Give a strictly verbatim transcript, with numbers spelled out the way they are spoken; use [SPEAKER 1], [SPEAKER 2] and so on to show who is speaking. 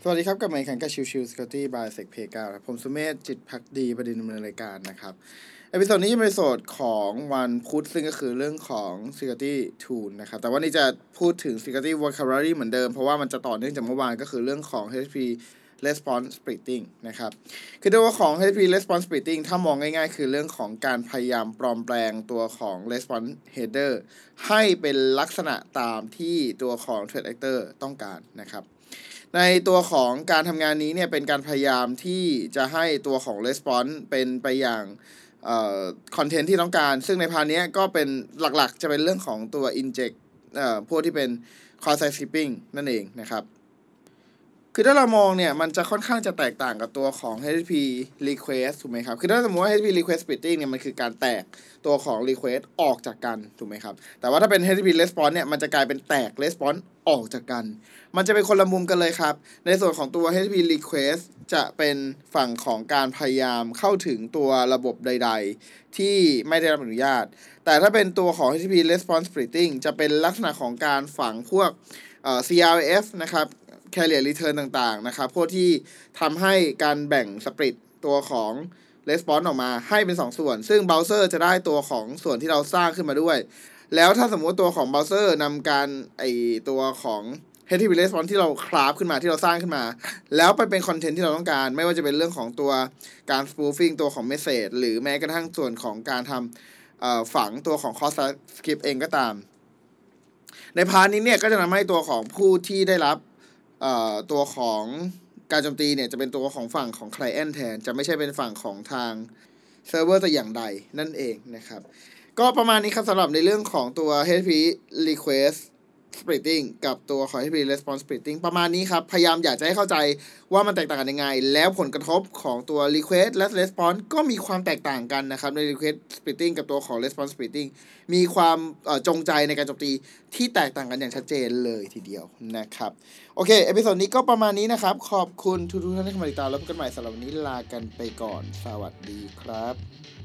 [SPEAKER 1] สวัสดีครับกับมาอีกครั้งกับชิวชิว Security by Sec Pay เก้าครับผมสุเมธจิตภักดีประเด็นดำเนินรายการนะครับเอพิโซดนี้จะเป็นเอพิโซดของวันพุธซึ่งก็คือเรื่องของ Security Tool นะครับแต่วันนี้จะพูดถึง Security Vocabulary เหมือนเดิมเพราะว่ามันจะต่อเนื่องจากเมื่อวานก็คือเรื่องของ เอช พี Response Splitting นะครับคือตัวของ เอช พี Response Splitting ถ้ามองง่ายๆคือเรื่องของการพยายามปลอมแปลงตัวของ Response Header ให้เป็นลักษณะตามที่ตัวของ Threat Actor ต้องการนะครับในตัวของการทำงานนี้เนี่ยเป็นการพยายามที่จะให้ตัวของ response เป็นไปอย่างเอ่อคอนเทนต์ที่ต้องการซึ่งในพาร์ทนี้ก็เป็นหลักๆจะเป็นเรื่องของตัว inject เอ่อพวกที่เป็น call side skipping นั่นเองนะครับคือถ้าเรามองเนี่ยมันจะค่อนข้างจะแตกต่างกับตัวของ เอช พี request ถูกไหมครับคือถ้าสมมติว่า เอช พี request splitting เนี่ยมันคือการแตกตัวของ request ออกจากกันถูกไหมครับแต่ว่าถ้าเป็น เอช พี response เนี่ยมันจะกลายเป็นแตก response ออกจากกันมันจะเป็นคนละมุมกันเลยครับในส่วนของตัว เอช พี request จะเป็นฝั่งของการพยายามเข้าถึงตัวระบบใดๆที่ไม่ได้รับอนุญาตแต่ถ้าเป็นตัวของ เอช พี response splitting จะเป็นลักษณะของการฝังพวกเอ่อ ซี อาร์ เอฟ นะครับ carrier return ต่างๆนะครับพวกที่ทำให้การแบ่งสปริตตัวของ response ออกมาให้เป็นสองส่วนซึ่ง browser จะได้ตัวของส่วนที่เราสร้างขึ้นมาด้วยแล้วถ้าสมมุติตัวของ browser นำการไอตัวของ เอช ที ที พี response ที่เราคราฟขึ้นมาที่เราสร้างขึ้นมาแล้วไปเป็นคอนเทนต์ที่เราต้องการไม่ว่าจะเป็นเรื่องของตัวการ spoofing ตัวของ message หรือแม้กระทั่งส่วนของการทำฝังตัวของ cross script เองก็ตามในพาร์ทนี้เนี่ยก็จะทำให้ตัวของผู้ที่ได้รับตัวของการโจมตีเนี่ยจะเป็นตัวของฝั่งของ client แทนจะไม่ใช่เป็นฝั่งของทางเซิร์ฟเวอร์แต่อย่างใดนั่นเองนะครับก็ประมาณนี้ครับสำหรับในเรื่องของตัว เอช พี request splitting กับตัวของ เอช พี response splitting ประมาณนี้ครับพยายามอยากจะให้เข้าใจว่ามันแตกต่างกันยังไงแล้วผลกระทบของตัว request และ response ก็มีความแตกต่างกันนะครับใน request splitting กับตัวของ response splitting มีความจงใจในการโจมตีที่แตกต่างกันอย่างชัดเจนเลยทีเดียวนะครับโอเคเอพิโซดนี้ก็ประมาณนี้นะครับขอบคุณทุกท่านที่เข้ามาติดตามแล้วพบกันใหม่สำหรับวันนี้ลากันไปก่อนสวัสดีครับ